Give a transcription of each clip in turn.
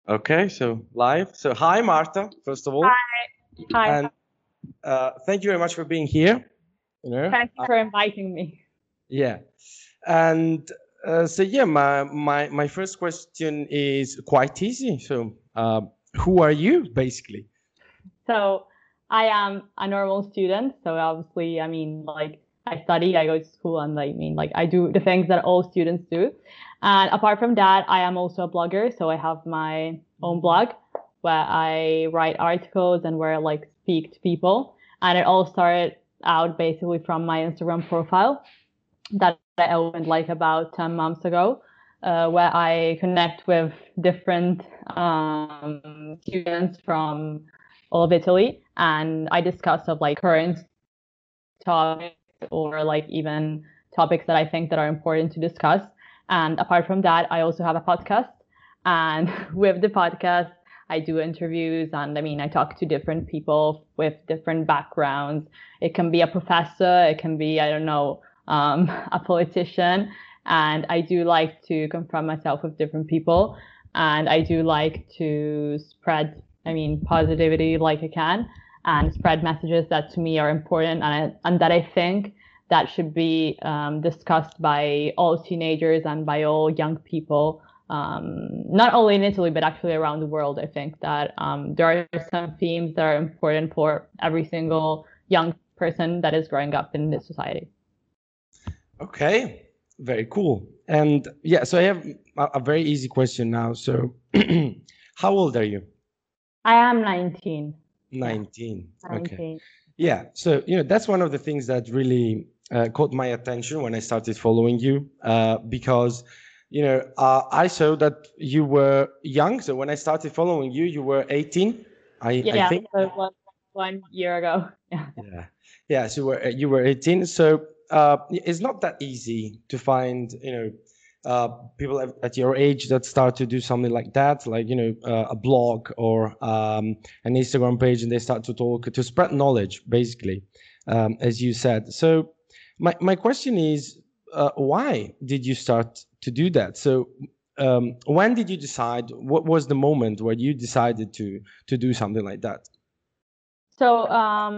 Okay, so live. So hi, Marta, first of all, Hi, and thank you very much for being here. You know, thank you for inviting me. yeah, and so yeah, my first question is quite easy. So, who are you, basically? So, I am a normal student. So, obviously, like I study, I go to school, and I do the things that all students do. And apart from that, I am also a blogger. So, I have my own blog where I write articles and where I like speak to people. And it all started out basically from my Instagram profile that I opened like about 10 months ago, where I connect with different students from all of Italy, and I discuss of like current topics or like even topics that I think that are important to discuss. And apart from that, I also have a podcast, and with the podcast, I do interviews and I talk to different people with different backgrounds. It can be a professor, it can be, I don't know, a politician. And I do like to confront myself with different people. And I do like to spread, positivity like I can and spread messages that to me are important and that I think that should be discussed by all teenagers and by all young people, not only in Italy, but actually around the world. I think that there are some themes that are important for every single young person that is growing up in this society. Okay, very cool. And yeah, so I have a very easy question now. So, how old are you? I am 19. Yeah, 19. Okay. 19. Yeah. So, that's one of the things that really caught my attention when I started following you, because, I saw that you were young. So when I started following you, you were 18, I Yeah, think. so it was 1 year ago. Yeah. Yeah. Yeah. So you were 18. So it's not that easy to find, people at your age that start to do something like that, like, a blog or an Instagram page, and they start to talk to spread knowledge, basically, as you said. So my question is, why did you start to do that? So when did you decide? What was the moment where you decided to do something like that? So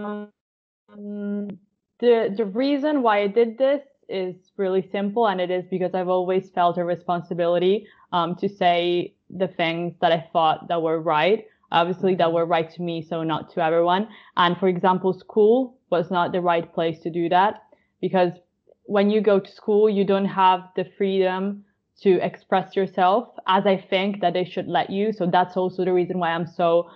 the reason why I did this is really simple, and it is because I've always felt a responsibility to say the things that I thought that were right. Obviously, that were right to me, so not to everyone. And for example, school was not the right place to do that because when you go to school, you don't have the freedom to express yourself as I think that they should let you. So that's also the reason why I'm so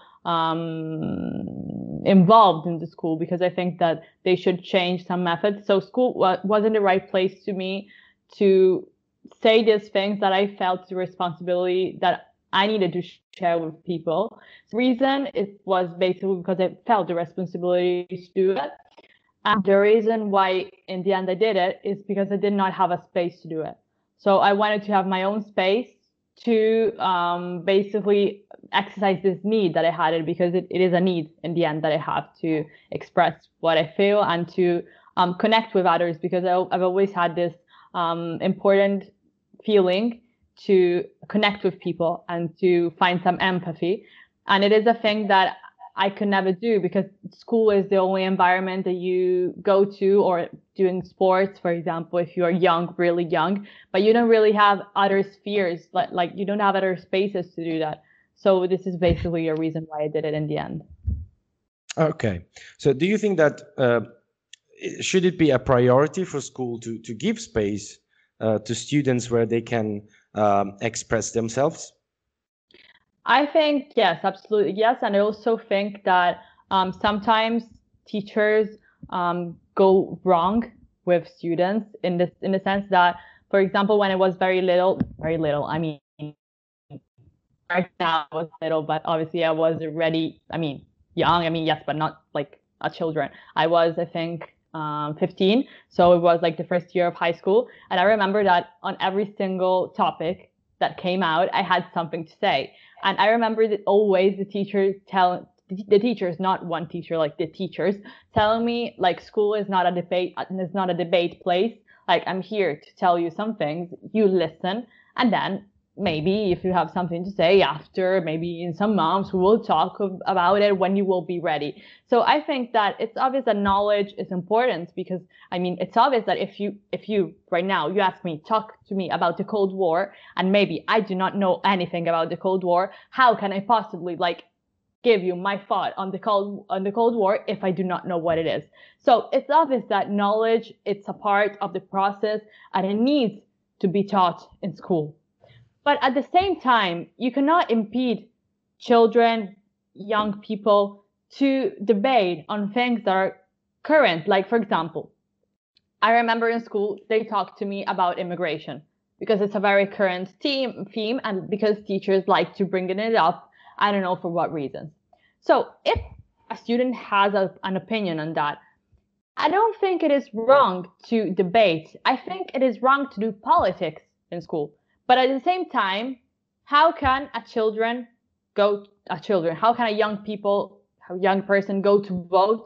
involved in the school because I think that they should change some methods. So school wasn't the right place to me to say these things that I felt the responsibility that I needed to share with people. The reason it was basically because I felt the responsibility to do it. And the reason why in the end I did it is because I did not have a space to do it. So I wanted to have my own space to basically exercise this need that I had it because it is a need in the end that I have to express what I feel and to connect with others because I've always had this important feeling to connect with people and to find some empathy. And it is a thing that I could never do because school is the only environment that you go to or doing sports, for example, if you are young, really young, but you don't really have other spheres, like you don't have other spaces to do that. So this is basically a reason why I did it in the end. Okay. So do you think that should it be a priority for school to give space to students where they can express themselves? I think yes, absolutely yes, and I also think that sometimes teachers go wrong with students in the sense that, for example, when I was very little, right now I was little, but obviously I was already, young. Yes, but not like a children. I was, I think, 15, so it was like the first year of high school, and I remember that on every single topic that came out, I had something to say, and I remember that always the teachers, not one teacher, like the teachers, telling me like school is not a debate place. Like I'm here to tell you some things, you listen, and then maybe if you have something to say after, maybe in some months, we will talk about it when you will be ready. So I think that it's obvious that knowledge is important because, I mean, it's obvious that if you right now, you ask me, talk to me about the Cold War, and maybe I do not know anything about the Cold War, how can I possibly like give you my thought on the Cold War if I do not know what it is? So it's obvious that knowledge, it's a part of the process and it needs to be taught in school. But at the same time, you cannot impede children, young people to debate on things that are current. Like, for example, I remember in school, they talked to me about immigration because it's a very current theme and because teachers like to bring it up. I don't know for what reasons. So if a student has an opinion on that, I don't think it is wrong to debate. I think it is wrong to do politics in school. But at the same time, how can how can a young person go to vote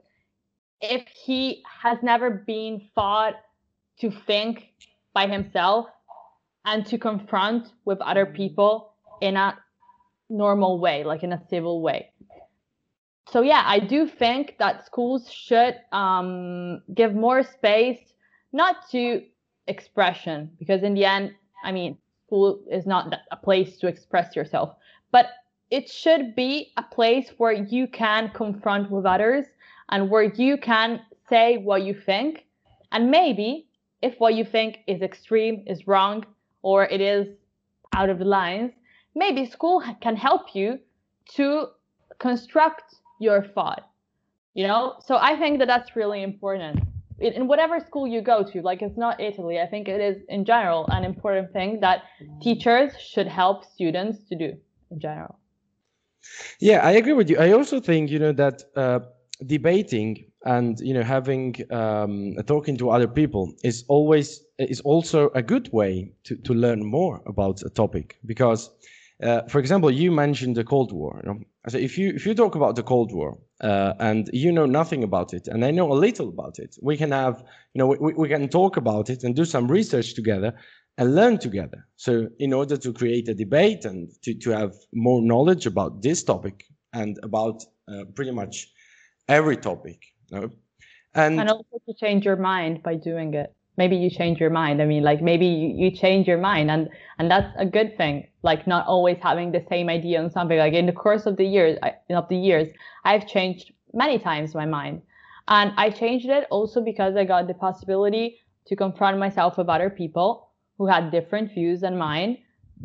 if he has never been taught to think by himself and to confront with other people in a normal way, like in a civil way? So yeah, I do think that schools should give more space, not to expression, because in the end, I mean, school is not a place to express yourself, but it should be a place where you can confront with others and where you can say what you think. And maybe if what you think is extreme, is wrong, or it is out of the lines, maybe school can help you to construct your thought, So I think that that's really important. In whatever school you go to, like it's not Italy, I think it is in general an important thing that teachers should help students to do in general. Yeah, I agree with you. I also think, that debating and, having talking to other people is also a good way to learn more about a topic. Because, for example, you mentioned the Cold War. So if you talk about the Cold War and you know nothing about it, and I know a little about it, we can have, we can talk about it and do some research together and learn together. So in order to create a debate and to have more knowledge about this topic and about pretty much every topic, and also to change your mind by doing it. Maybe you change your mind. I mean, like maybe you change your mind, and that's a good thing. Like not always having the same idea on something. Like in the course of the years, I've changed many times my mind, and I changed it also because I got the possibility to confront myself with other people who had different views than mine.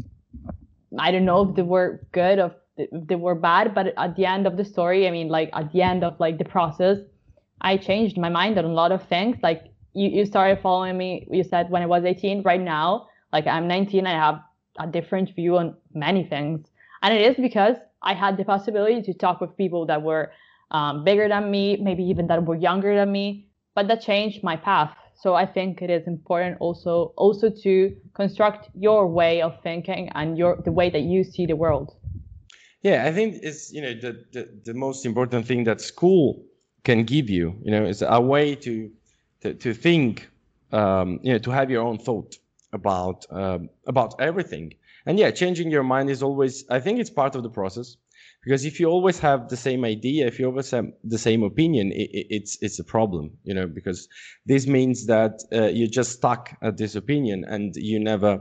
I don't know if they were good or if they were bad, but at the end of the story, I mean, like at the end of like the process, I changed my mind on a lot of things. Like you started following me, you said when I was 18. Right now, like I'm 19, I have a different view on many things. And it is because I had the possibility to talk with people that were bigger than me, maybe even that were younger than me, but that changed my path. So I think it is important also to construct your way of thinking and the way that you see the world. Yeah, I think it's the most important thing that school can give you. Is a way to think, to have your own thought about everything. And yeah, changing your mind is always, I think it's part of the process, because if you always have the same idea, if you always have the same opinion, it's a problem, because this means that you're just stuck at this opinion and you never,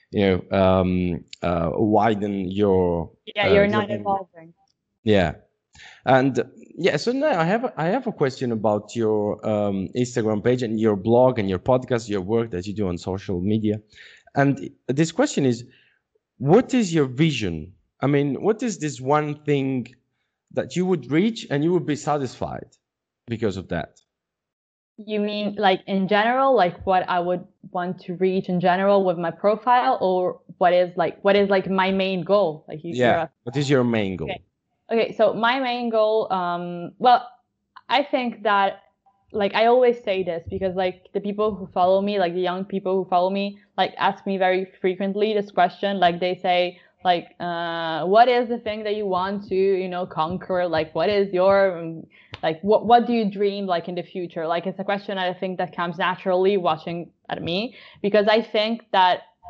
widen your. Yeah, you're not evolving. Yeah. And yeah, so now I have a question about your Instagram page and your blog and your podcast, your work that you do on social media. And this question is, what is your vision? I mean, what is this one thing that you would reach and you would be satisfied because of that? You mean like in general, like what I would want to reach in general with my profile, or what is like my main goal? Like what is your main goal? Okay, so my main goal, well, I think that, like, I always say this because, like, the people who follow me, like, the young people who follow me, like, ask me very frequently this question. Like, they say, like, what is the thing that you want to, conquer? Like, what is your, like, what do you dream, like, in the future? Like, it's a question I think that comes naturally watching at me, because I think that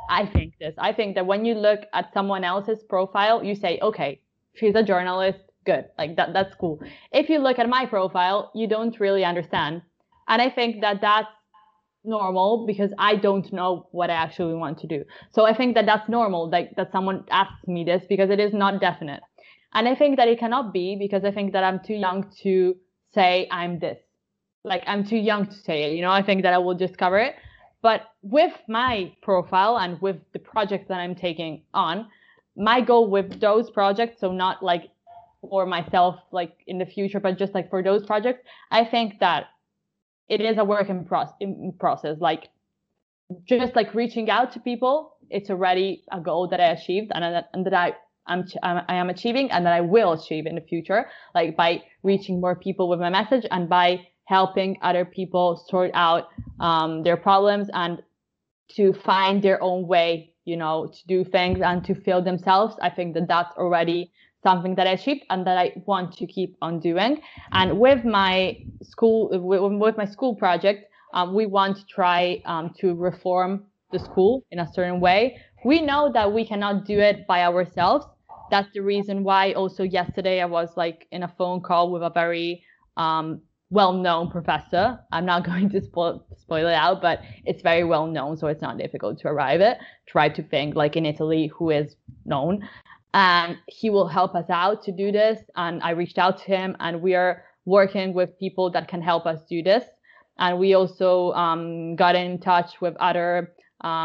I think this. I think that when you look at someone else's profile, you say, okay, she's a journalist, good. Like that's cool. If you look at my profile, you don't really understand. And I think that that's normal because I don't know what I actually want to do. So I think that that's normal, like that someone asks me this because it is not definite. And I think that it cannot be because I think that I'm too young to say I'm this. Like I'm too young to say it, I think that I will discover it. But with my profile and with the projects that I'm taking on, my goal with those projects, so not like for myself, like in the future, but just like for those projects, I think that it is a work in process. Like just like reaching out to people, it's already a goal that I achieved and that I am achieving and that I will achieve in the future, like by reaching more people with my message and by helping other people sort out their problems and to find their own way, to do things and to feel themselves. I think that that's already something that I achieved and that I want to keep on doing. And with my school project, we want to try to reform the school in a certain way. We know that we cannot do it by ourselves. That's the reason why also yesterday I was like in a phone call with a very well-known professor. I'm not going to spoil it out, but it's very well known, so it's not difficult to arrive at. Try to think like in Italy who is known, and he will help us out to do this. And I reached out to him, and we are working with people that can help us do this. And we also got in touch with other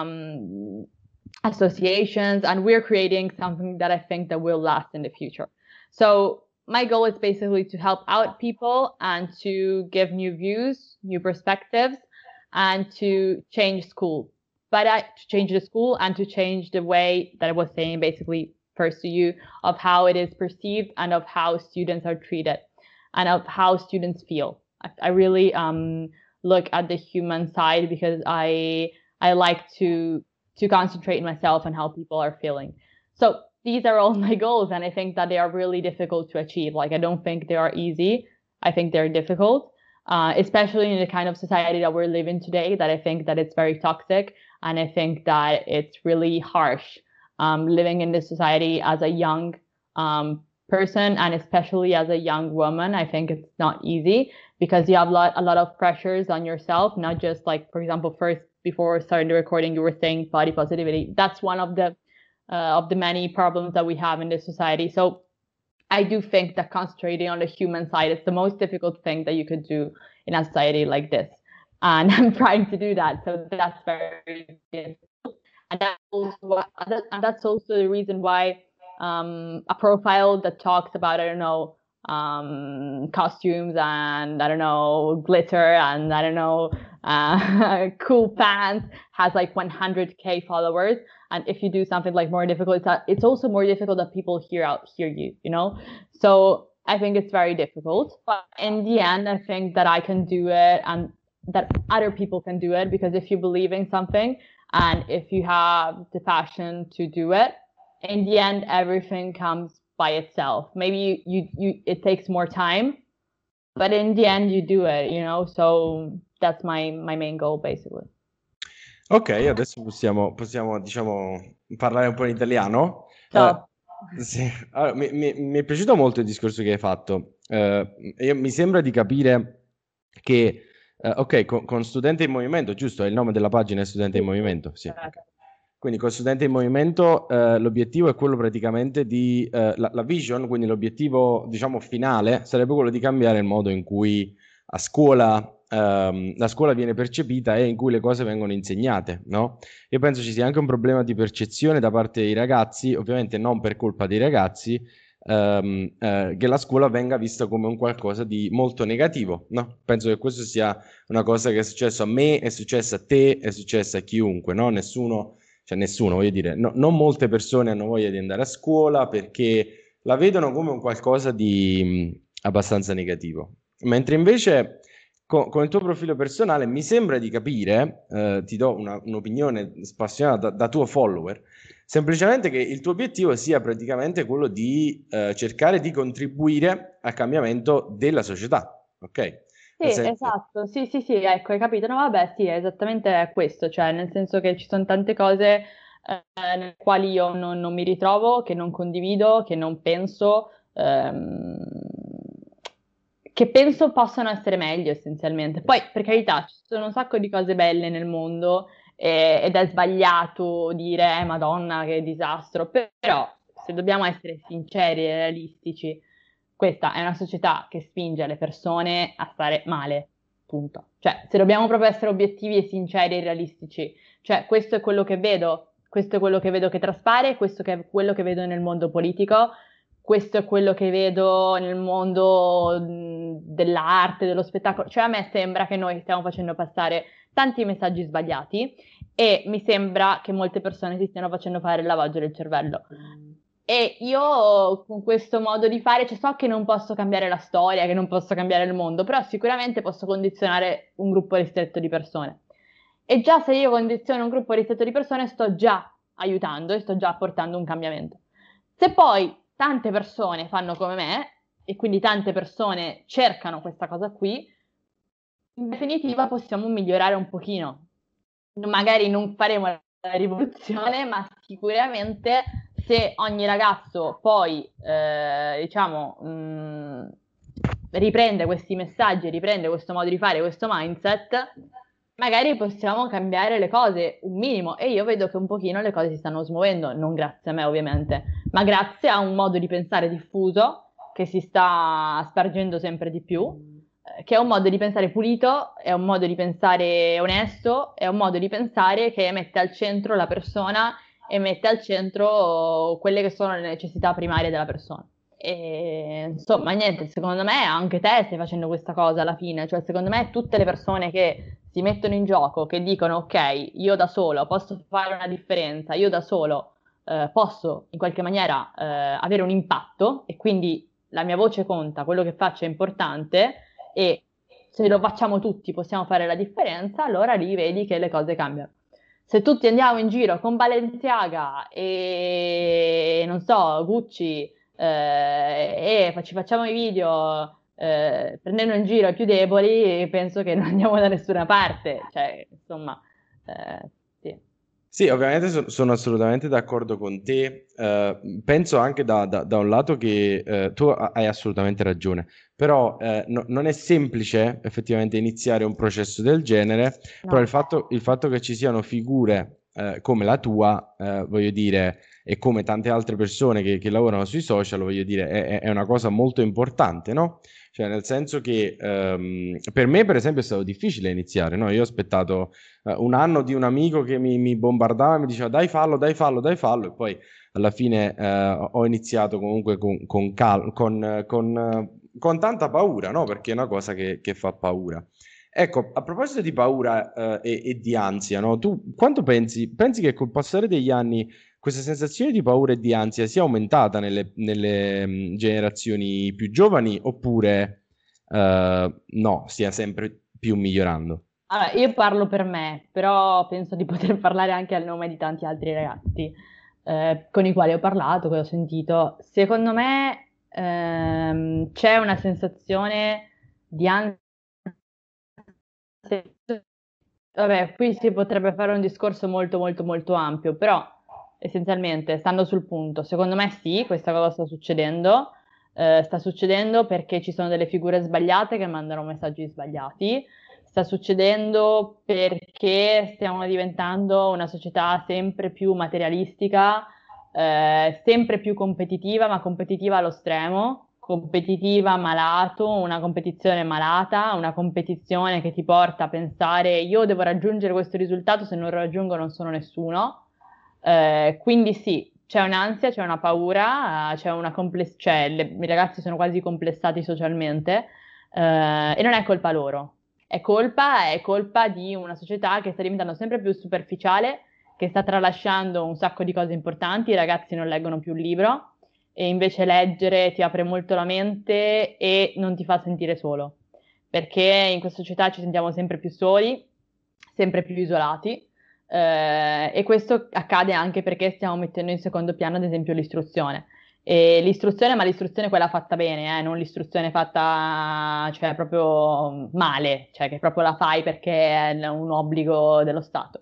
associations, and we're creating something that I think that will last in the future. So my goal is basically to help out people and to give new views, new perspectives, and to change school. But to change the school and to change the way that I was saying basically first to you of how it is perceived and of how students are treated and of how students feel. I really look at the human side because I like to concentrate in myself and how people are feeling. So these are all my goals, and I think that they are really difficult to achieve. Like, I don't think they are easy. I think they're difficult, especially in the kind of society that we're living today, that I think that it's very toxic. And I think that it's really harsh living in this society as a young person, and especially as a young woman. I think it's not easy because you have a lot of pressures on yourself, not just like, for example, first, before starting the recording, you were saying body positivity. That's one of the many problems that we have in this society. So I do think that concentrating on the human side is the most difficult thing that you could do in a society like this. And I'm trying to do that. So that's very difficult. And that's also the reason why a profile that talks about, I don't know, costumes and I don't know, glitter and I don't know, cool pants has like 100K followers. And if you do something like more difficult, it's also more difficult that people hear you, So I think it's very difficult. But in the end, I think that I can do it and that other people can do it, because if you believe in something and if you have the passion to do it, in the end, everything comes by itself. Maybe it takes more time, but in the end you do it, So that's my main goal, basically. Ok, adesso possiamo diciamo, parlare un po' in italiano. Sì. Allora, mi è piaciuto molto il discorso che hai fatto. Mi sembra di capire che, ok, con Studente in Movimento, giusto? È il nome della pagina, è Studente in Movimento? Sì. Okay. Quindi con Studente in Movimento l'obiettivo è quello praticamente di, la vision, quindi l'obiettivo diciamo finale sarebbe quello di cambiare il modo in cui a scuola la scuola viene percepita e in cui le cose vengono insegnate, no? Io penso ci sia anche un problema di percezione da parte dei ragazzi, ovviamente non per colpa dei ragazzi, che la scuola venga vista come un qualcosa di molto negativo, no? Penso che questo sia una cosa che è successo a me, è successa a te, è successa a chiunque, no? Nessuno, voglio dire, non molte persone hanno voglia di andare a scuola perché la vedono come un qualcosa di abbastanza negativo. Mentre invece con il tuo profilo personale mi sembra di capire, ti do un'opinione spassionata da tuo follower, semplicemente che il tuo obiettivo sia praticamente quello di cercare di contribuire al cambiamento della società, ok? Sì, esatto, sì, ecco, hai capito? No, vabbè, sì, è esattamente questo, cioè nel senso che ci sono tante cose nelle quali io non mi ritrovo, che non condivido, che non penso, che penso possano essere meglio essenzialmente. Poi, per carità, ci sono un sacco di cose belle nel mondo ed è sbagliato dire, Madonna, che disastro, però se dobbiamo essere sinceri e realistici, questa è una società che spinge le persone a stare male, punto. Cioè, se dobbiamo proprio essere obiettivi e sinceri e realistici, cioè questo è quello che vedo, questo è quello che vedo che traspare, questo è quello che vedo nel mondo politico, questo è quello che vedo nel mondo dell'arte, dello spettacolo. Cioè, a me sembra che noi stiamo facendo passare tanti messaggi sbagliati e mi sembra che molte persone si stiano facendo fare il lavaggio del cervello. E io con questo modo di fare, cioè so che non posso cambiare la storia, che non posso cambiare il mondo, però sicuramente posso condizionare un gruppo ristretto di persone. E già se io condiziono un gruppo ristretto di persone, sto già aiutando e sto già portando un cambiamento. Se poi tante persone fanno come me, e quindi tante persone cercano questa cosa qui, in definitiva possiamo migliorare un pochino. Magari non faremo la rivoluzione, ma sicuramente se ogni ragazzo poi, diciamo, riprende questi messaggi, riprende questo modo di fare, questo mindset, magari possiamo cambiare le cose un minimo. E io vedo che un pochino le cose si stanno smuovendo, non grazie a me ovviamente, ma grazie a un modo di pensare diffuso che si sta spargendo sempre di più, che è un modo di pensare pulito, è un modo di pensare onesto, è un modo di pensare che mette al centro la persona e mette al centro quelle che sono le necessità primarie della persona. E insomma, niente, secondo me anche te stai facendo questa cosa alla fine, cioè secondo me tutte le persone che si mettono in gioco, che dicono ok, io da solo posso fare una differenza, io da solo posso in qualche maniera avere un impatto e quindi la mia voce conta, quello che faccio è importante e se lo facciamo tutti possiamo fare la differenza, allora lì vedi che le cose cambiano. Se tutti andiamo in giro con Balenciaga e non so, Gucci e ci facciamo i video prendendo in giro i più deboli, penso che non andiamo da nessuna parte. Cioè, insomma, sì. Sì, ovviamente sono assolutamente d'accordo con te. Penso anche da un lato che tu hai assolutamente ragione, però non è semplice effettivamente iniziare un processo del genere, però No. il fatto che ci siano figure come la tua, voglio dire, e come tante altre persone che lavorano sui social, voglio dire, è una cosa molto importante, no? Cioè, nel senso che per me, per esempio, è stato difficile iniziare, no? Io ho aspettato un anno di un amico che mi bombardava e mi diceva dai fallo, dai fallo, dai fallo, e poi alla fine ho iniziato comunque con tanta paura, no? Perché è una cosa che fa paura. Ecco, a proposito di paura e di ansia, no? Tu quanto pensi che col passare degli anni questa sensazione di paura e di ansia sia aumentata nelle generazioni più giovani oppure no, stia sempre più migliorando? Allora, io parlo per me, però penso di poter parlare anche al nome di tanti altri ragazzi con i quali ho parlato, che ho sentito. Secondo me c'è una sensazione di ansia. Vabbè, qui si potrebbe fare un discorso molto molto molto ampio, però essenzialmente, stando sul punto, secondo me sì, questa cosa sta succedendo perché ci sono delle figure sbagliate che mandano messaggi sbagliati, sta succedendo perché stiamo diventando una società sempre più materialistica, sempre più competitiva, ma competitiva allo stremo, competitiva malato, una competizione malata, una competizione che ti porta a pensare io devo raggiungere questo risultato, se non lo raggiungo non sono nessuno. Quindi sì, c'è un'ansia, c'è una paura, cioè i ragazzi sono quasi complessati socialmente, e non è colpa loro. È colpa di una società che sta diventando sempre più superficiale, che sta tralasciando un sacco di cose importanti, i ragazzi non leggono più un libro e invece leggere ti apre molto la mente e non ti fa sentire solo, perché in questa società ci sentiamo sempre più soli, sempre più isolati, e questo accade anche perché stiamo mettendo in secondo piano, ad esempio, l'istruzione. E l'istruzione, ma l'istruzione quella fatta bene, non l'istruzione fatta, cioè, proprio male, cioè che proprio la fai perché è un obbligo dello Stato.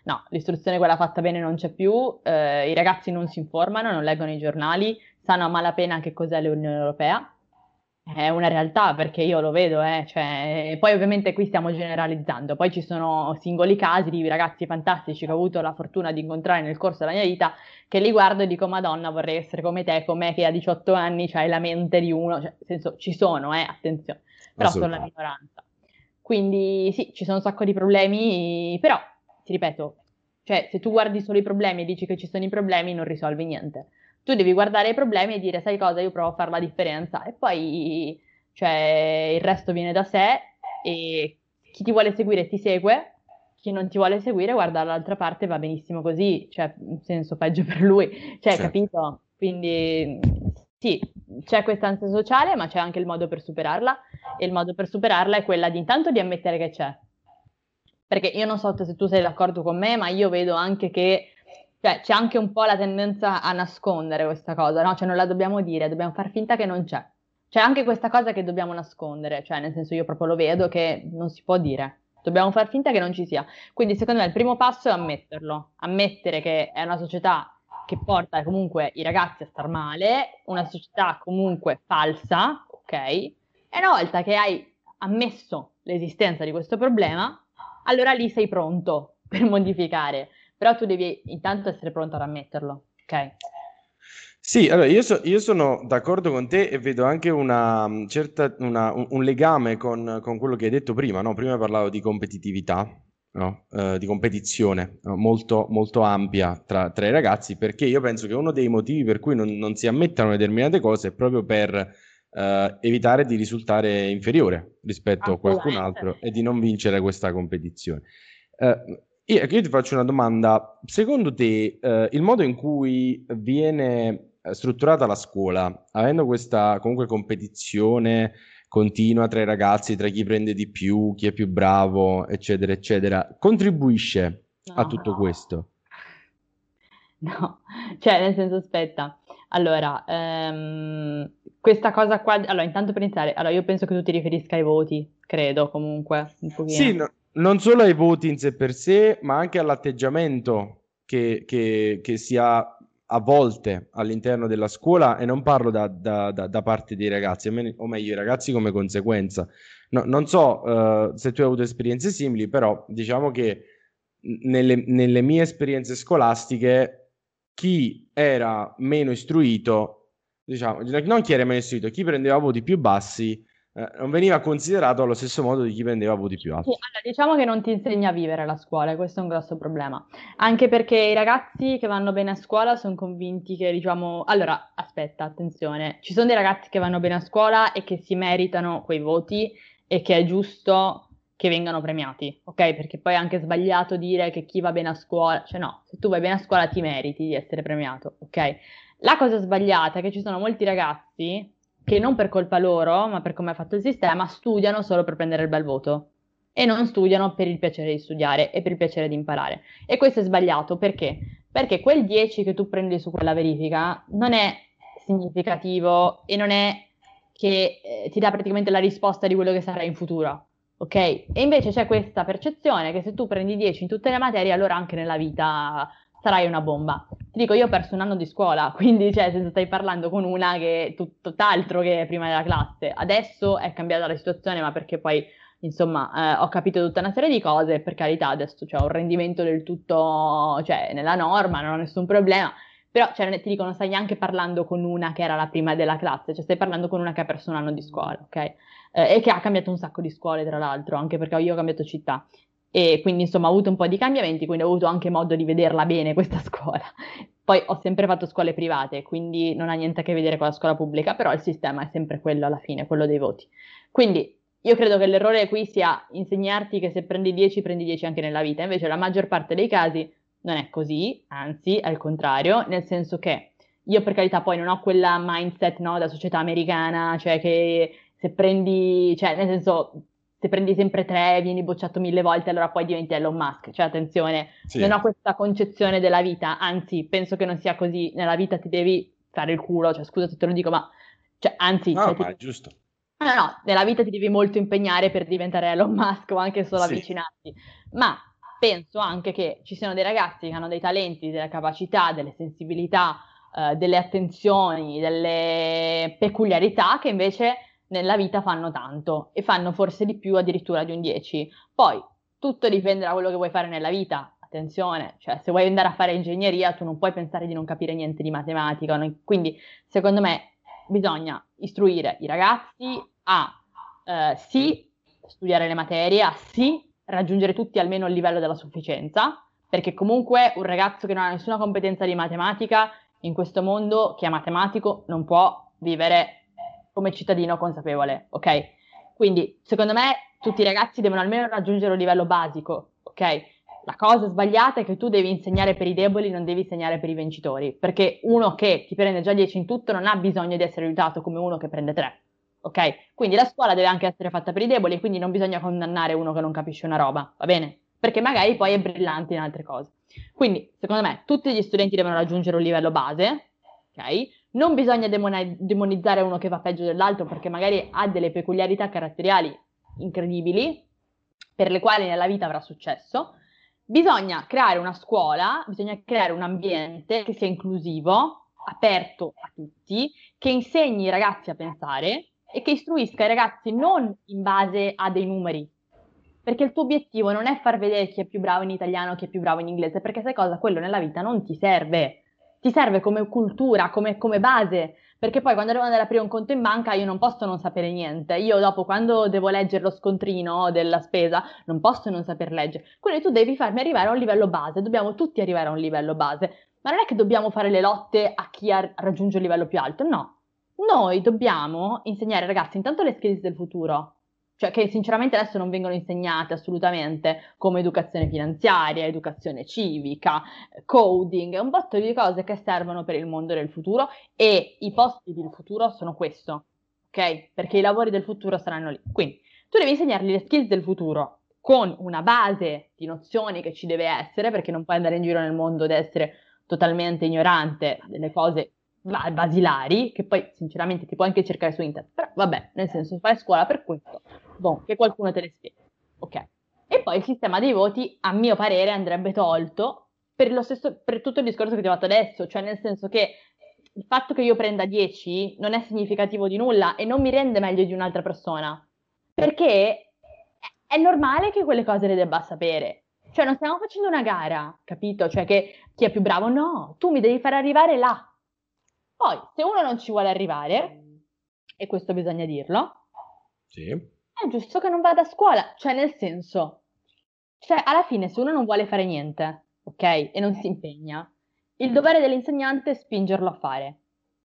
no, l'istruzione quella fatta bene non c'è più, i ragazzi non si informano, non leggono i giornali, sanno a malapena che cos'è l'Unione Europea. È una realtà perché io lo vedo, cioè, poi ovviamente qui stiamo generalizzando, poi ci sono singoli casi di ragazzi fantastici che ho avuto la fortuna di incontrare nel corso della mia vita, che li guardo e dico, Madonna, vorrei essere come te, come che a 18 anni c'hai la mente di uno, cioè, nel senso, ci sono, attenzione, però sono la Assolutamente. minoranza. Quindi sì, ci sono un sacco di problemi, però, ti ripeto, cioè, se tu guardi solo i problemi e dici che ci sono i problemi, non risolvi niente. Tu devi guardare i problemi e dire, sai cosa, io provo a fare la differenza e poi, cioè, il resto viene da sé e chi ti vuole seguire ti segue, chi non ti vuole seguire guarda dall'altra parte, va benissimo così, cioè, in senso peggio per lui, cioè, Certo. capito? Quindi sì, c'è questa ansia sociale, ma c'è anche il modo per superarla e il modo per superarla è quella di intanto di ammettere che c'è. Perché io non so se tu sei d'accordo con me, ma io vedo anche che cioè, c'è anche un po' la tendenza a nascondere questa cosa, no? Cioè non la dobbiamo dire, dobbiamo far finta che non c'è. C'è anche questa cosa che dobbiamo nascondere, cioè nel senso io proprio lo vedo che non si può dire. Dobbiamo far finta che non ci sia. Quindi secondo me il primo passo è ammetterlo, ammettere che è una società che porta comunque i ragazzi a star male, una società comunque falsa, ok? E una volta che hai ammesso l'esistenza di questo problema, allora lì sei pronto per modificare, però tu devi intanto essere pronto ad ammetterlo, ok? Sì, allora io sono d'accordo con te e vedo anche una certa, un legame con quello che hai detto prima, no? Prima parlavo di competitività, no? Di competizione, no? Molto, molto ampia tra i ragazzi, perché io penso che uno dei motivi per cui non si ammettano determinate cose è proprio per evitare di risultare inferiore rispetto a qualcun Assolutamente. altro e di non vincere questa competizione. Io ti faccio una domanda. Secondo te, il modo in cui viene strutturata la scuola, avendo questa comunque competizione continua tra i ragazzi, tra chi prende di più, chi è più bravo, eccetera, eccetera, contribuisce a No, tutto questo? no, cioè nel senso aspetta, allora, questa cosa qua, allora intanto per iniziare, allora io penso che tu ti riferisca ai voti, credo comunque, un Sì, pochino. non solo ai voti in sé per sé, ma anche all'atteggiamento che si ha a volte all'interno della scuola, e non parlo da parte dei ragazzi, o meglio, i ragazzi come conseguenza. Non so, se tu hai avuto esperienze simili, però diciamo che nelle mie esperienze scolastiche, chi era meno istruito, diciamo, non chi era meno istruito, chi prendeva voti più bassi non veniva considerato allo stesso modo di chi prendeva voti più Sì, alti. allora, diciamo che non ti insegna a vivere la scuola, e questo è un grosso problema. Anche perché i ragazzi che vanno bene a scuola sono convinti che, diciamo, allora, aspetta, attenzione, ci sono dei ragazzi che vanno bene a scuola e che si meritano quei voti e che è giusto che vengano premiati, ok? Perché poi è anche sbagliato dire che chi va bene a scuola, cioè no, se tu vai bene a scuola ti meriti di essere premiato, ok? La cosa sbagliata è che ci sono molti ragazzi che non per colpa loro, ma per come è fatto il sistema, studiano solo per prendere il bel voto e non studiano per il piacere di studiare e per il piacere di imparare. E questo è sbagliato perché? Perché quel 10 che tu prendi su quella verifica non è significativo e non è che ti dà praticamente la risposta di quello che sarai in futuro. Ok? E invece c'è questa percezione che se tu prendi 10 in tutte le materie, allora anche nella vita sarai una bomba. Ti dico, io ho perso un anno di scuola, quindi cioè, se stai parlando con una che è tutt'altro che prima della classe. Adesso è cambiata la situazione, ma perché poi insomma, ho capito tutta una serie di cose, e per carità, adesso c'è un rendimento del tutto, cioè, nella norma, non ho nessun problema, però, cioè, ti dico, non stai neanche parlando con una che era la prima della classe, cioè, stai parlando con una che ha perso un anno di scuola, ok? E che ha cambiato un sacco di scuole, tra l'altro, anche perché io ho cambiato città. E quindi, insomma, ho avuto un po' di cambiamenti, quindi ho avuto anche modo di vederla bene questa scuola. Poi ho sempre fatto scuole private, quindi non ha niente a che vedere con la scuola pubblica, però il sistema è sempre quello alla fine, quello dei voti. Quindi io credo che l'errore qui sia insegnarti che se prendi 10 anche nella vita, invece la maggior parte dei casi non è così, anzi è il contrario, nel senso che io per carità poi non ho quella mindset, no, da società americana, cioè che se prendi, cioè nel senso se prendi sempre 3, vieni bocciato 1000 volte, allora poi diventi Elon Musk, cioè attenzione, non Sì. ho questa concezione della vita, anzi penso che non sia così, nella vita ti devi fare il culo, cioè scusa se te lo dico, ma cioè, anzi, No, cioè, ma è giusto. no, no, nella vita ti devi molto impegnare per diventare Elon Musk o anche solo Sì. avvicinarti, ma penso anche che ci siano dei ragazzi che hanno dei talenti, delle capacità, delle sensibilità, delle attenzioni, delle peculiarità che invece nella vita fanno tanto e fanno forse di più addirittura di un 10. Poi tutto dipende da quello che vuoi fare nella vita. Attenzione, cioè se vuoi andare a fare ingegneria tu non puoi pensare di non capire niente di matematica, quindi secondo me bisogna istruire i ragazzi a sì studiare le materie, a sì raggiungere tutti almeno il livello della sufficienza, perché comunque un ragazzo che non ha nessuna competenza di matematica in questo mondo, che è matematico, non può vivere come cittadino consapevole, ok? Quindi secondo me tutti i ragazzi devono almeno raggiungere un livello basico, ok? La cosa sbagliata è che tu devi insegnare per i deboli, non devi insegnare per i vincitori, perché uno che ti prende già 10 in tutto non ha bisogno di essere aiutato come uno che prende 3, ok? Quindi la scuola deve anche essere fatta per i deboli, quindi non bisogna condannare uno che non capisce una roba, va bene? Perché magari poi è brillante in altre cose. Quindi, secondo me, tutti gli studenti devono raggiungere un livello base, ok? Non bisogna demonizzare uno che va peggio dell'altro perché magari ha delle peculiarità caratteriali incredibili per le quali nella vita avrà successo. Bisogna creare una scuola, bisogna creare un ambiente che sia inclusivo, aperto a tutti, che insegni i ragazzi a pensare e che istruisca i ragazzi non in base a dei numeri, perché il tuo obiettivo non è far vedere chi è più bravo in italiano, chi è più bravo in inglese, perché sai cosa? Quello nella vita non ti serve come cultura, come base, perché poi quando devo andare a aprire un conto in banca io non posso non sapere niente, io dopo quando devo leggere lo scontrino della spesa non posso non saper leggere, quindi tu devi farmi arrivare a un livello base, dobbiamo tutti arrivare a un livello base, ma non è che dobbiamo fare le lotte a chi raggiunge il livello più alto, no, noi dobbiamo insegnare ai ragazzi intanto le skills del futuro, cioè che sinceramente adesso non vengono insegnate assolutamente, come educazione finanziaria, educazione civica, coding, un botto di cose che servono per il mondo del futuro e i posti del futuro sono questo, ok? Perché i lavori del futuro saranno lì. Quindi tu devi insegnargli le skills del futuro con una base di nozioni che ci deve essere, perché non puoi andare in giro nel mondo ed essere totalmente ignorante delle cose basilari, che poi sinceramente ti puoi anche cercare su internet, però vabbè, nel senso fai scuola per questo, boh, che qualcuno te le spieghi, ok? E poi il sistema dei voti, a mio parere, andrebbe tolto per lo stesso, per tutto il discorso che ti ho fatto adesso, cioè nel senso che il fatto che io prenda 10 non è significativo di nulla e non mi rende meglio di un'altra persona, perché è normale che quelle cose le debba sapere. Cioè non stiamo facendo una gara, capito? Cioè che chi è più bravo, no, tu mi devi far arrivare là. Poi, se uno non ci vuole arrivare, e questo bisogna dirlo, Sì. è giusto che non vada a scuola, cioè nel senso, cioè alla fine se uno non vuole fare niente, ok, e non si impegna, il dovere dell'insegnante è spingerlo a fare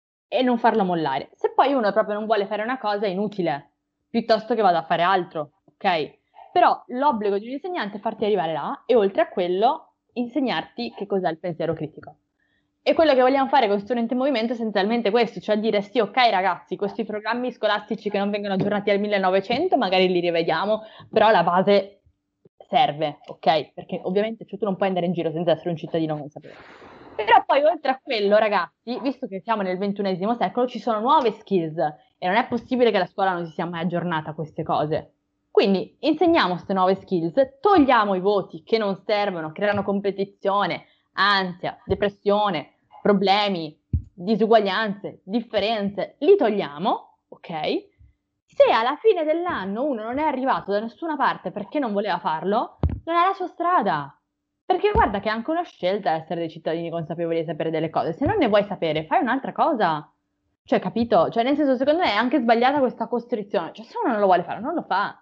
e non farlo mollare. Se poi uno proprio non vuole fare una cosa è inutile, piuttosto che vada a fare altro, ok? Però l'obbligo di un insegnante è farti arrivare là e oltre a quello insegnarti che cos'è il pensiero critico. E quello che vogliamo fare con Student in Movimento è essenzialmente questo, cioè dire sì, ok ragazzi, questi programmi scolastici che non vengono aggiornati al 1900 magari li rivediamo, però la base serve, ok? Perché ovviamente cioè, tu non puoi andare in giro senza essere un cittadino consapevole. Però poi oltre a quello, ragazzi, visto che siamo nel XXI secolo, ci sono nuove skills e non è possibile che la scuola non si sia mai aggiornata a queste cose. Quindi insegniamo queste nuove skills, togliamo i voti che non servono, creano competizione, ansia, depressione, problemi, disuguaglianze, differenze, li togliamo, ok? Se alla fine dell'anno uno non è arrivato da nessuna parte perché non voleva farlo, non è la sua strada. Perché guarda che è anche una scelta essere dei cittadini consapevoli e sapere delle cose. Se non ne vuoi sapere, fai un'altra cosa. Cioè, capito? Cioè, nel senso, secondo me è anche sbagliata questa costrizione. Cioè, se uno non lo vuole fare, non lo fa.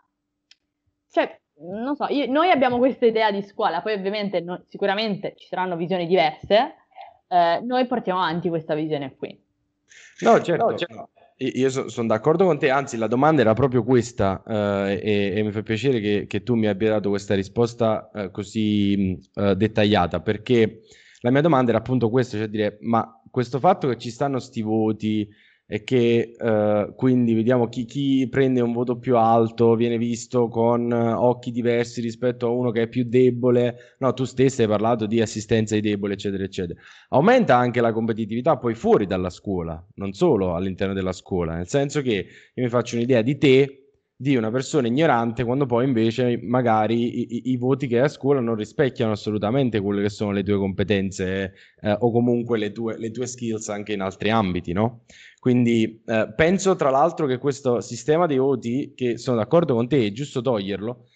Cioè, non so, noi abbiamo questa idea di scuola, poi ovviamente sicuramente ci saranno visioni diverse, noi portiamo avanti questa visione qui. No, certo, no. Io sono d'accordo con te, anzi la domanda era proprio questa e mi fa piacere che tu mi abbia dato questa risposta così dettagliata, perché la mia domanda era appunto questa, cioè dire, ma questo fatto che ci stanno sti voti e che quindi vediamo chi prende un voto più alto viene visto con occhi diversi rispetto a uno che è più debole, no, tu stessa hai parlato di assistenza ai deboli, eccetera, eccetera. Aumenta anche la competitività poi fuori dalla scuola, non solo all'interno della scuola, nel senso che io mi faccio un'idea di te di una persona ignorante, quando poi invece magari i voti che hai a scuola non rispecchiano assolutamente quelle che sono le tue competenze, o comunque le tue skills anche in altri ambiti, no? Quindi penso tra l'altro che questo sistema dei voti, che sono d'accordo con te, è giusto toglierlo,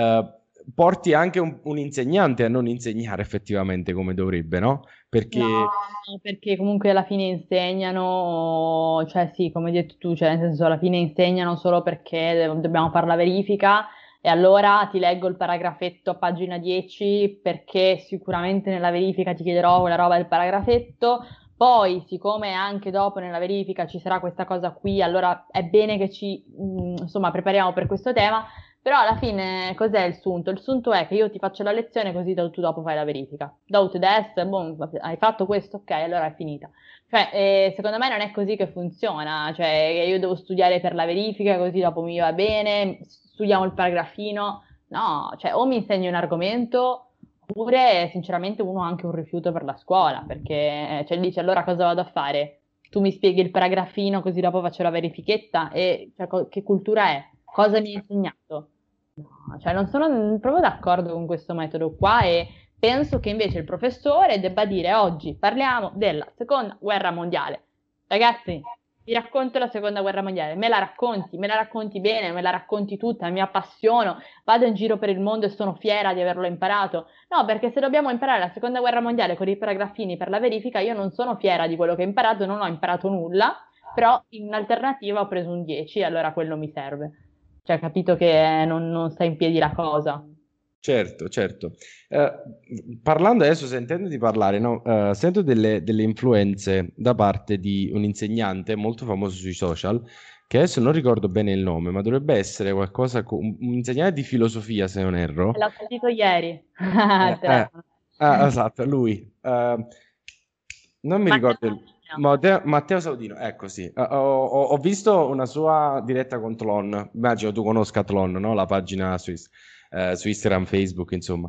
porti anche un insegnante a non insegnare effettivamente come dovrebbe, no? No, Perché perché comunque alla fine insegnano, cioè sì, come hai detto tu, cioè nel senso alla fine insegnano solo perché dobbiamo fare la verifica e allora ti leggo il paragrafetto a pagina 10 perché sicuramente nella verifica ti chiederò quella roba del paragrafetto, poi siccome anche dopo nella verifica ci sarà questa cosa qui, allora è bene che ci, insomma, prepariamo per questo tema. Però alla fine cos'è il sunto? Il sunto è che io ti faccio la lezione così tu dopo fai la verifica. Dopo test, boh, hai fatto questo, ok, allora è finita. Cioè, secondo me non è così che funziona. Cioè, io devo studiare per la verifica così dopo mi va bene, studiamo il paragrafino. No, cioè, o mi insegni un argomento oppure sinceramente uno ha anche un rifiuto per la scuola, perché cioè, dice allora cosa vado a fare? Tu mi spieghi il paragrafino così dopo faccio la verifichetta e cioè, che cultura è? Cosa mi hai insegnato? No, cioè non sono proprio d'accordo con questo metodo qua e penso che invece il professore debba dire oggi parliamo della seconda guerra mondiale. Ragazzi, vi racconto la seconda guerra mondiale, me la racconti bene, me la racconti tutta, mi appassiono, vado in giro per il mondo e sono fiera di averlo imparato. No, perché se dobbiamo imparare la seconda guerra mondiale con i paragrafini per la verifica, io non sono fiera di quello che ho imparato, non ho imparato nulla, però in alternativa ho preso un 10, allora quello mi serve. Cioè, capito che non sta in piedi la cosa. certo, certo. Eh, Parlando adesso, sentendoti parlare, no? Sento delle influenze da parte di un insegnante molto famoso sui social, che adesso non ricordo bene il nome, ma dovrebbe essere qualcosa, un insegnante di filosofia, se non erro. L'ho sentito ieri al Eh, eh, telefono. esatto, lui. Non mi Matteo ricordo Salvino. Matteo Saudino, ecco sì. Ho visto una sua diretta con Tlon, immagino tu conosca Tlon, no? La pagina su Instagram, Facebook, insomma.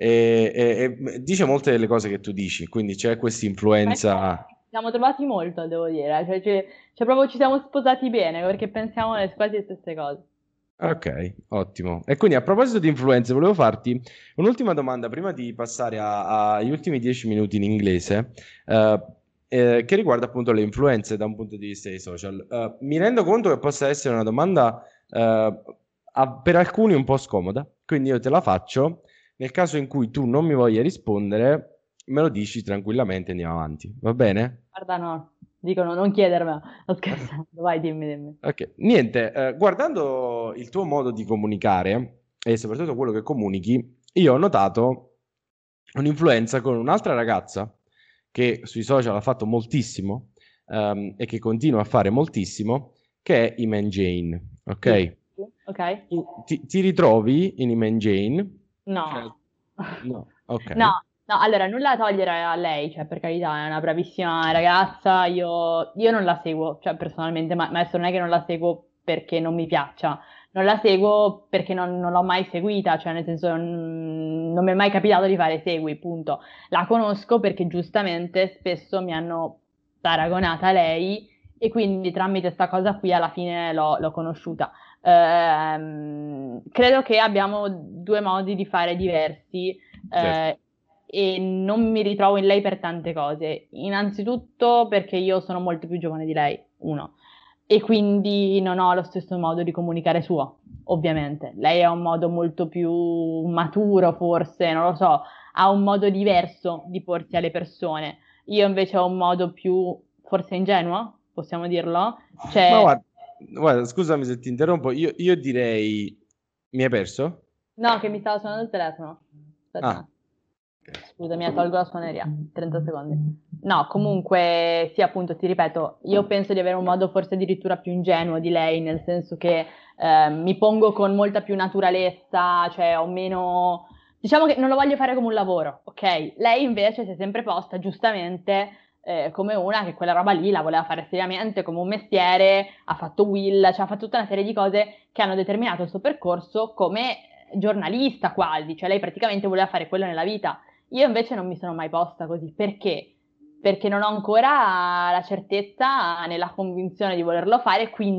E dice molte delle cose che tu dici, quindi c'è questa Ma influenza. infatti, ci siamo trovati molto, devo dire. Cioè, proprio ci siamo sposati bene perché pensiamo quasi le stesse cose. Ok, ottimo. E quindi a proposito di influenze, volevo farti un'ultima domanda prima di passare agli ultimi 10 minuti in inglese, eh, che riguarda appunto le influenze da un punto di vista dei social. Mi rendo conto che possa essere una domanda per alcuni un po' scomoda, quindi io te la faccio. Nel caso in cui tu non mi voglia rispondere, me lo dici tranquillamente e andiamo avanti, va bene? Guarda, no, dicono non chiedermelo. Sto scherzando, vai, dimmi, dimmi. Ok, niente, guardando il tuo modo di comunicare e soprattutto quello che comunichi, io ho notato un'influenza con un'altra ragazza che sui social ha fatto moltissimo, e che continua a fare moltissimo, che è Iman Jane, Sì. ok? Ok? Ti ritrovi in Iman Jane? Cioè, No. no, ok, No, no, allora nulla da togliere a lei, cioè per carità è una bravissima ragazza, io non la seguo, cioè personalmente, ma adesso non è che non la seguo perché non mi piaccia, non la seguo perché non l'ho mai seguita, cioè nel senso non mi è mai capitato di fare segui, punto. La conosco perché giustamente spesso mi hanno paragonata a lei e quindi tramite questa cosa qui alla fine l'ho conosciuta. Credo che abbiamo due modi di fare diversi certo, eh, e non mi ritrovo in lei per tante cose. Innanzitutto perché io sono molto più giovane di lei, uno, e quindi non ho lo stesso modo di comunicare suo, ovviamente. Lei ha un modo molto più maturo, forse, non lo so, ha un modo diverso di porsi alle persone. Io invece ho un modo più, forse ingenuo, possiamo dirlo? ma Cioè, guarda, scusami se ti interrompo, io direi, mi hai perso? no, che mi stava suonando il telefono. Aspetta un Ah, attimo. Scusami, tolgo la suoneria. 30 secondi. No, comunque, sì, appunto, ti ripeto, io penso di avere un modo forse addirittura più ingenuo di lei, nel senso che mi pongo con molta più naturalezza, cioè ho meno... Diciamo che non lo voglio fare come un lavoro, ok? Lei invece si è sempre posta, giustamente, come una che quella roba lì la voleva fare seriamente, come un mestiere, ha fatto Will, cioè ha fatto tutta una serie di cose che hanno determinato il suo percorso come giornalista quasi, cioè lei praticamente voleva fare quello nella vita. Io invece non mi sono mai posta così. Perché? Perché non ho ancora la certezza nella convinzione di volerlo fare, quindi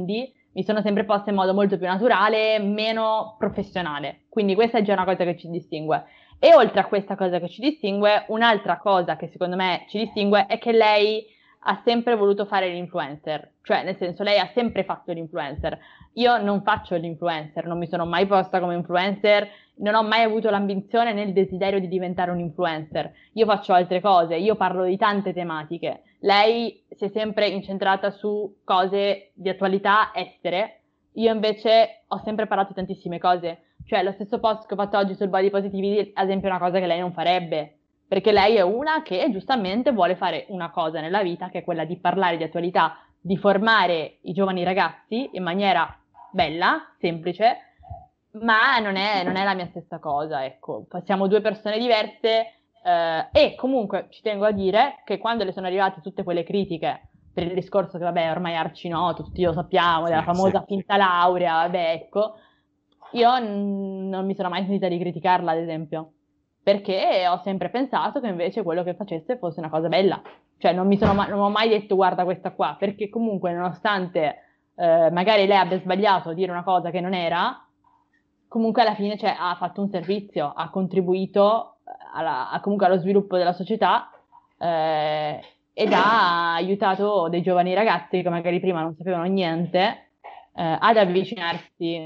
mi sono sempre posta in modo molto più naturale, meno professionale. Quindi questa è già una cosa che ci distingue. E oltre a questa cosa che ci distingue, un'altra cosa che secondo me ci distingue è che lei ha sempre voluto fare l'influencer, cioè nel senso lei ha sempre fatto l'influencer. Io non faccio l'influencer, non mi sono mai posta come influencer, non ho mai avuto l'ambizione né il desiderio di diventare un influencer. Io faccio altre cose, io parlo di tante tematiche. Lei si è sempre incentrata su cose di attualità estere, io invece ho sempre parlato di tantissime cose. Cioè, lo stesso post che ho fatto oggi sul body positivity, ad esempio, è una cosa che lei non farebbe, perché lei è una che giustamente vuole fare una cosa nella vita, che è quella di parlare di attualità, di formare i giovani ragazzi in maniera bella, semplice, ma non è la mia stessa cosa, ecco. Siamo due persone diverse, e comunque ci tengo a dire che quando le sono arrivate tutte quelle critiche per il discorso che, vabbè, ormai è arcinoto, tutti lo sappiamo, della famosa finta laurea, vabbè, ecco, io non mi sono mai sentita di criticarla, ad esempio, perché ho sempre pensato che invece quello che facesse fosse una cosa bella. Cioè, non ho mai detto guarda questa qua, perché comunque nonostante magari lei abbia sbagliato a dire una cosa che non era, comunque alla fine cioè, ha fatto un servizio, ha contribuito comunque allo sviluppo della società, ed ha aiutato dei giovani ragazzi che magari prima non sapevano niente, ad avvicinarsi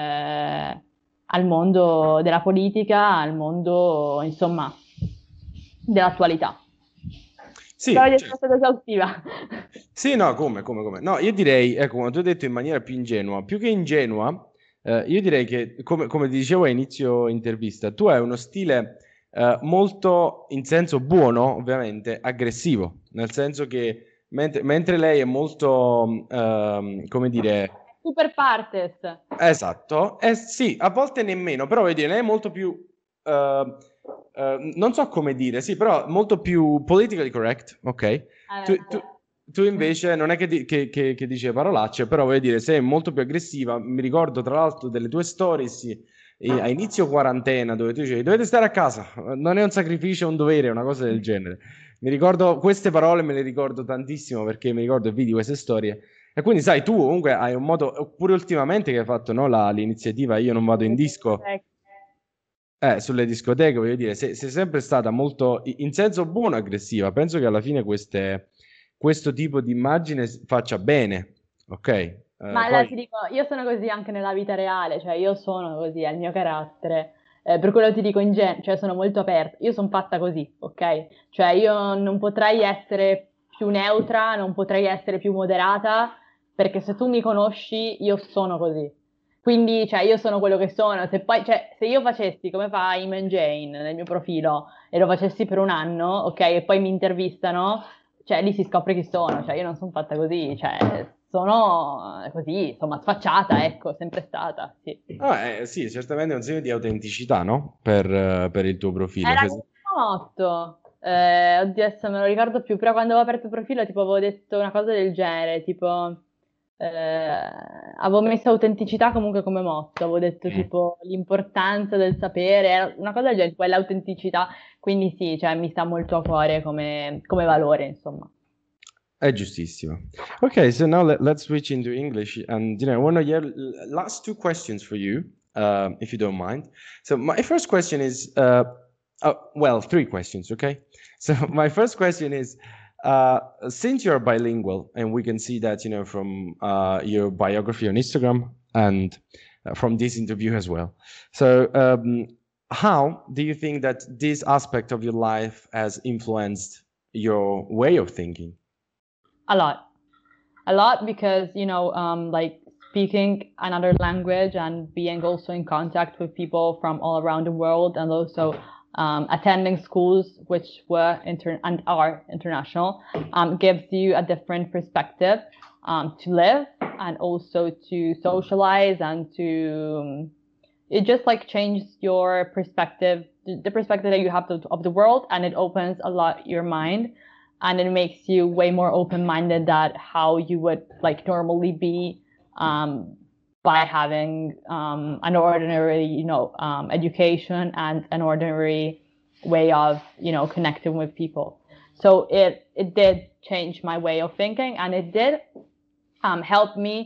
al mondo della politica, al mondo, insomma, dell'attualità. Sì, Spero di essere certo. stata esaustiva. Sì, no, come? No, io direi, ecco, come tu hai detto in maniera più ingenua, più che ingenua, io direi che, come ti dicevo a inizio intervista, tu hai uno stile molto, in senso buono, ovviamente, aggressivo, nel senso che mentre lei è molto, come dire, Super partes. esatto, sì, a volte nemmeno, però vedi, lei è molto più, non so come dire, sì, però molto più politically correct, ok? Tu, tu- tu invece non è che dice parolacce, però voglio dire, sei molto più aggressiva. Mi ricordo tra l'altro delle tue stories a inizio quarantena dove tu dicevi dovete stare a casa, non è un sacrificio, è un dovere, è una cosa del genere. Mi ricordo queste parole, me le ricordo tantissimo perché mi ricordo e vidi queste storie. E quindi, sai, tu comunque hai un modo, oppure ultimamente che hai fatto no, l'iniziativa Io non vado in disco, sulle discoteche, voglio dire, sei sempre stata molto, in senso buono, aggressiva. Penso che alla fine questo tipo di immagine faccia bene, ok? Ma allora ti Poi, dico, io sono così anche nella vita reale, cioè io sono così, è il mio carattere. Per quello ti dico in genere, cioè sono molto aperta, io sono fatta così, ok? Cioè io non potrei essere più neutra, non potrei essere più moderata, perché se tu mi conosci, io sono così. Quindi, cioè, io sono quello che sono. Se poi, cioè, se io facessi come fa Iman Jane nel mio profilo e lo facessi per un anno, ok, e poi mi intervistano, cioè lì si scopre chi sono, cioè io non sono fatta così, cioè sono così, insomma, sfacciata, ecco, sempre stata, sì. sì, certamente è un segno di autenticità, no? Per il tuo profilo. Era Cioè, il mio motto, oddio adesso non me lo ricordo più, però quando avevo aperto il profilo tipo avevo detto una cosa del genere, tipo avevo messo autenticità comunque come motto, avevo detto mm, tipo l'importanza del sapere, era una cosa del genere, tipo è l'autenticità, quindi sì, cioè mi sta molto a cuore come valore, insomma. è giustissimo. Okay, so now let's switch into English. And, I want to have last two questions for you, if you don't mind. So my first question is, well, three questions, okay? So my first question is, since you're bilingual, and we can see that, from your biography on Instagram and from this interview as well. So how do you think that this aspect of your life has influenced your way of thinking? A lot. A lot because, like speaking another language and being also in contact with people from all around the world and also attending schools which were and are international gives you a different perspective to live and also to socialize and to it just like changes your perspective, the perspective that you have of the world, and it opens a lot your mind, and it makes you way more open-minded than how you would like normally be by having an ordinary, education and an ordinary way of, connecting with people. So it did change my way of thinking, and it did help me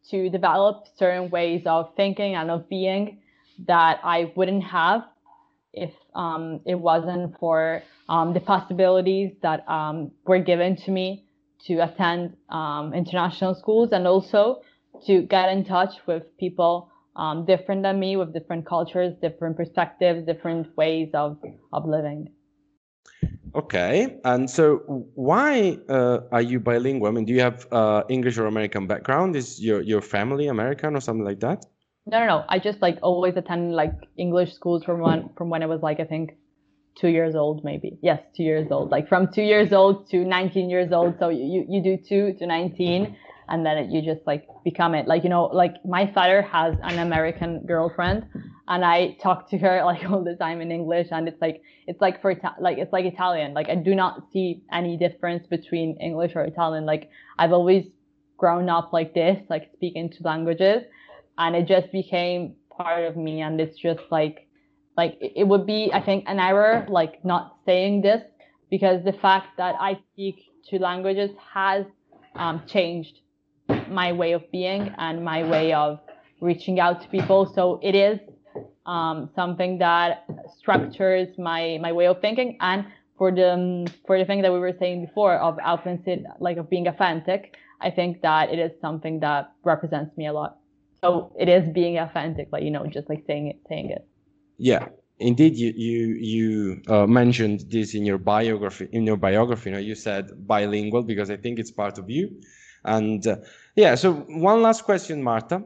to develop certain ways of thinking and of being that I wouldn't have if it wasn't for the possibilities that were given to me to attend international schools, and also to get in touch with people different than me, with different cultures, different perspectives, different ways of living. Okay, and so why are you bilingual? I mean, do you have English or American background? Is your family American or something like that? No. I just like always attended like English schools from when I was like, I think 2 years old, maybe. Yes, 2 years old. Like from 2 years old to 19 years old. So you do 2 to 19, and then you just like become it. Like, you know, like my father has an American girlfriend, and I talk to her like all the time in English, and it's like it's like Italian. Like I do not see any difference between English or Italian. Like I've always grown up like this, like speaking two languages, and it just became part of me, and it's just like it would be, I think, an error like not saying this, because the fact that I speak two languages has changed my way of being and my way of reaching out to people. So it is something that structures my way of thinking. And for the thing that we were saying before of authentic, like of being authentic, I think that it is something that represents me a lot. So it is being authentic, like, you know, just like saying it. Yeah, indeed. You mentioned this in your biography. You know, you said bilingual because I think it's part of you. And yeah, so one last question, Marta.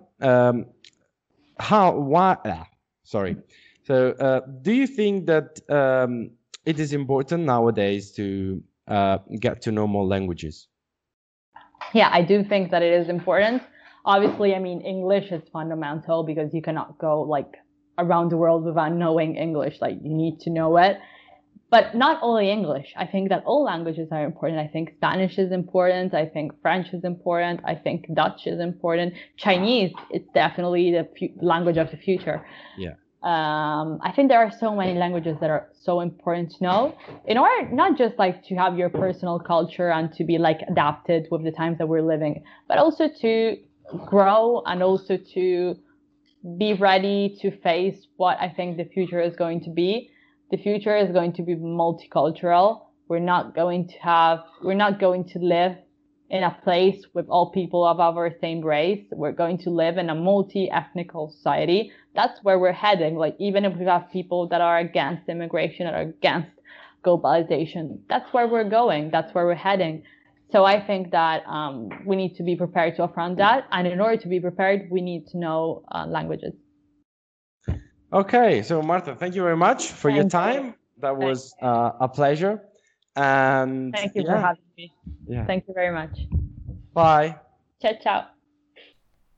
Sorry. So do you think that it is important nowadays to get to know more languages? Yeah, I do think that it is important. Obviously, I mean, English is fundamental because you cannot go like around the world without knowing English. Like you need to know it. But not only English. I think that all languages are important. I think Spanish is important. I think French is important. I think Dutch is important. Chinese, it's definitely the language of the future. Yeah. I think there are so many languages that are so important to know in order not just like to have your personal culture and to be like adapted with the times that we're living, but also to grow and also to be ready to face what I think the future is going to be. The future is going to be multicultural. We're not going to live in a place with all people of our same race. We're going to live in a multi-ethnical society. That's where we're heading. Like, even if we have people that are against immigration, that are against globalization, that's where we're going. That's where we're heading. So I think that we need to be prepared to affront that. And in order to be prepared, we need to know languages. Okay, so Marta, thank you very much for your time. That was a pleasure. And thank you for having me. Yeah. Thank you very much. Bye. Ciao, ciao.